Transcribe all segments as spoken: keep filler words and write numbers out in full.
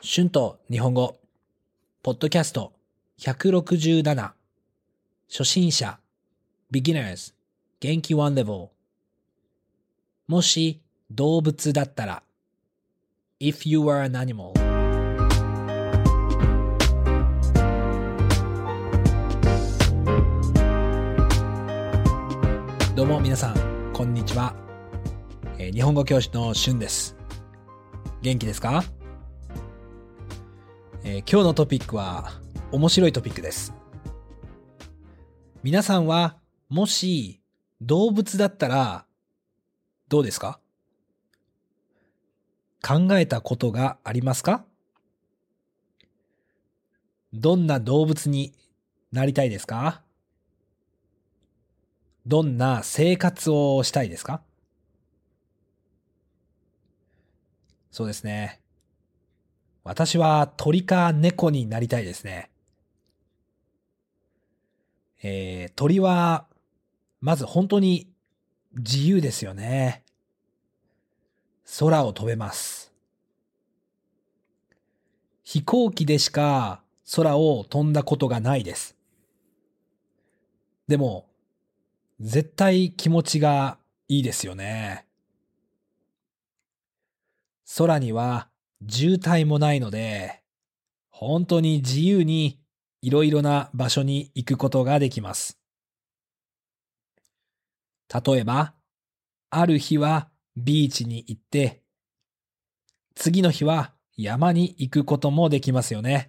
春と日本語ポッドキャストひゃくろくじゅうなな初心者 Beginners 元気ワンレベルもし動物だったら If you were an animal どうも皆さんこんにちは、えー、日本語教師の春です。元気ですか？えー、今日のトピックは面白いトピックです。皆さんはもし動物だったらどうですか？考えたことがありますか？どんな動物になりたいですか？どんな生活をしたいですか？そうですね。私は鳥か猫になりたいですね。えー、鳥はまず本当に自由ですよね。空を飛べます。飛行機でしか空を飛んだことがないです。でも、絶対気持ちがいいですよね。空には渋滞もないので、本当に自由にいろいろな場所に行くことができます。例えば、ある日はビーチに行って、次の日は山に行くこともできますよね。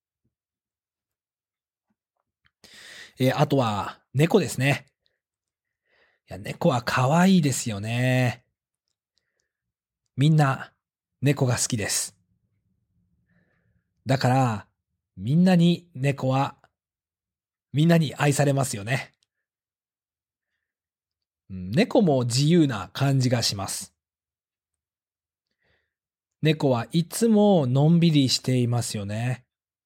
えー、あとは猫ですね。いや、猫は可愛いですよね。みんな猫が好きです。だから、みんなに猫はみんなに愛されますよね。猫も自由な感じがします。猫はいつものんびりしていますよね。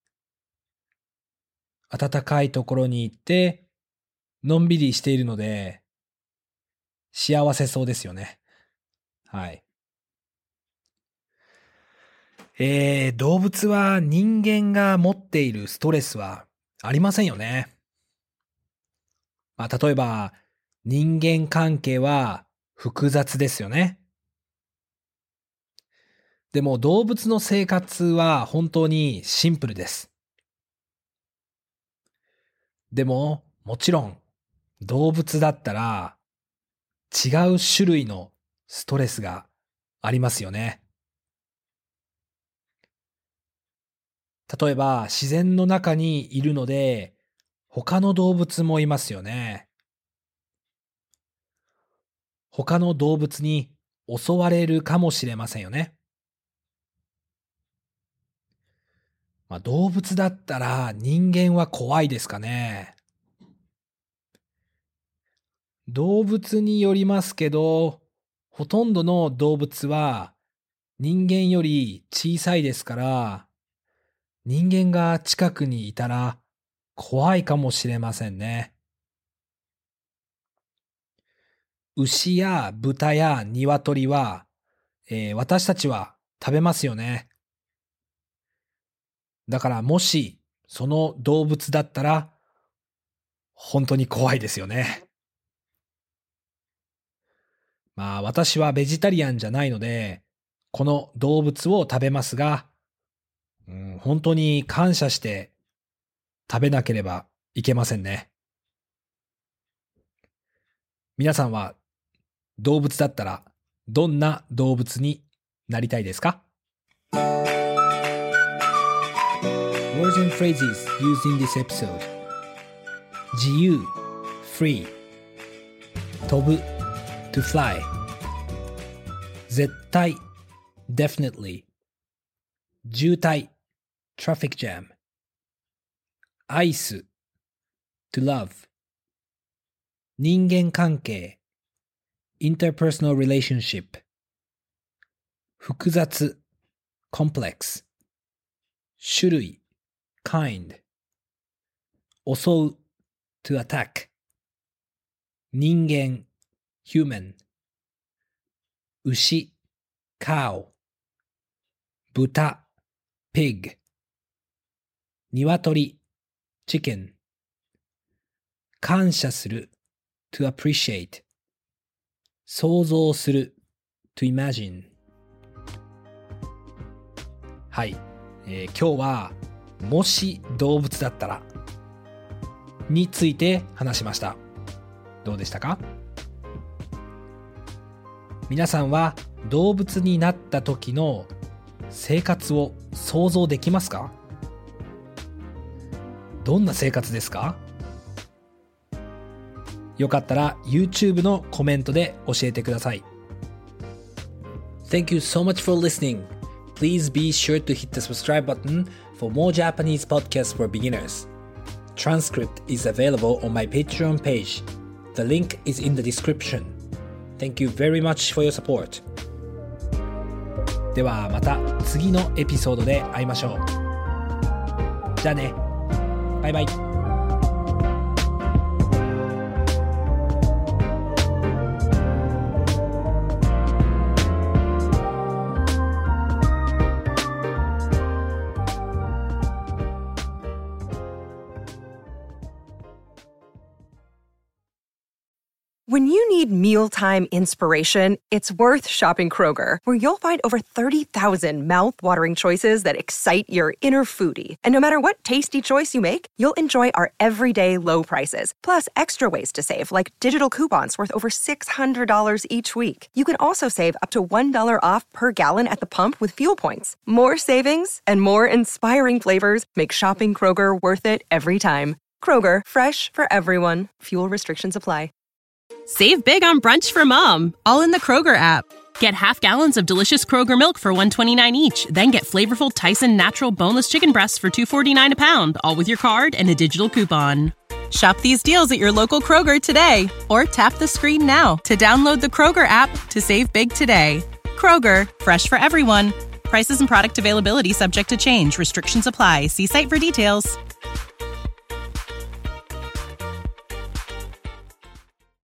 暖かいところに行って、のんびりしているので、幸せそうですよね。はい。えー、動物は人間が持っているストレスはありませんよね。まあ、例えば、人間関係は複雑ですよね。でも動物の生活は本当にシンプルです。でも、もちろん、動物だったら違う種類のストレスがありますよね。例えば、自然の中にいるので、他の動物もいますよね。他の動物に襲われるかもしれませんよね。まあ、動物だったら人間は怖いですかね。動物によりますけど、ほとんどの動物は人間より小さいですから、人間が近くにいたら怖いかもしれませんね。牛や豚や鶏は、えー私たちは食べますよね。だからもしその動物だったら本当に怖いですよね。まあ私はベジタリアンじゃないので、この動物を食べますが、うん、本当に感謝して食べなければいけませんね。皆さんは動物だったらどんな動物になりたいですか？ Words and phrases used in this episode 自由 free 飛ぶ to fly 絶対 definitely 渋滞 traffic jam 愛す to love 人間関係 interpersonal relationship 複雑 complex 種類 kind 襲う to attack 人間 human 牛 cow 豚 pig 鶏 chicken 感謝する to appreciate 想像する to imagine はい、えー、今日はもし動物だったらについて話しました。どうでしたか？皆さんは動物になった時の生活を想像できますか？どんな生活ですか？よかったら YouTube のコメントで教えてください。Thank you so much for listening. Please be sure to hit the subscribe button for more Japanese podcasts for beginners. Transcript is available on my Patreon page. The link is in the description. Thank you very much for your support. ではまた次のエピソードで会いましょう。じゃあね。バイバイ。 When you need mealtime inspiration, it's worth shopping Kroger, where you'll find over thirty thousand mouth-watering choices that excite your inner foodie. And no matter what tasty choice you make, you'll enjoy our everyday low prices, plus extra ways to save, like digital coupons worth over six hundred dollars each week. You can also save up to one dollar off per gallon at the pump with fuel points. More savings and more inspiring flavors make shopping Kroger worth it every time. Kroger, fresh for everyone. Fuel restrictions apply. Save big on brunch for mom, all in the Kroger app. Get half gallons of delicious Kroger milk for one dollar and twenty-nine cents each. Then get flavorful Tyson natural boneless chicken breasts for two dollars and forty-nine cents a pound, all with your card and a digital coupon. Shop these deals at your local Kroger today, or tap the screen now to download the Kroger app to save big today. Kroger, fresh for everyone. Prices and product availability subject to change. Restrictions apply. See site for details.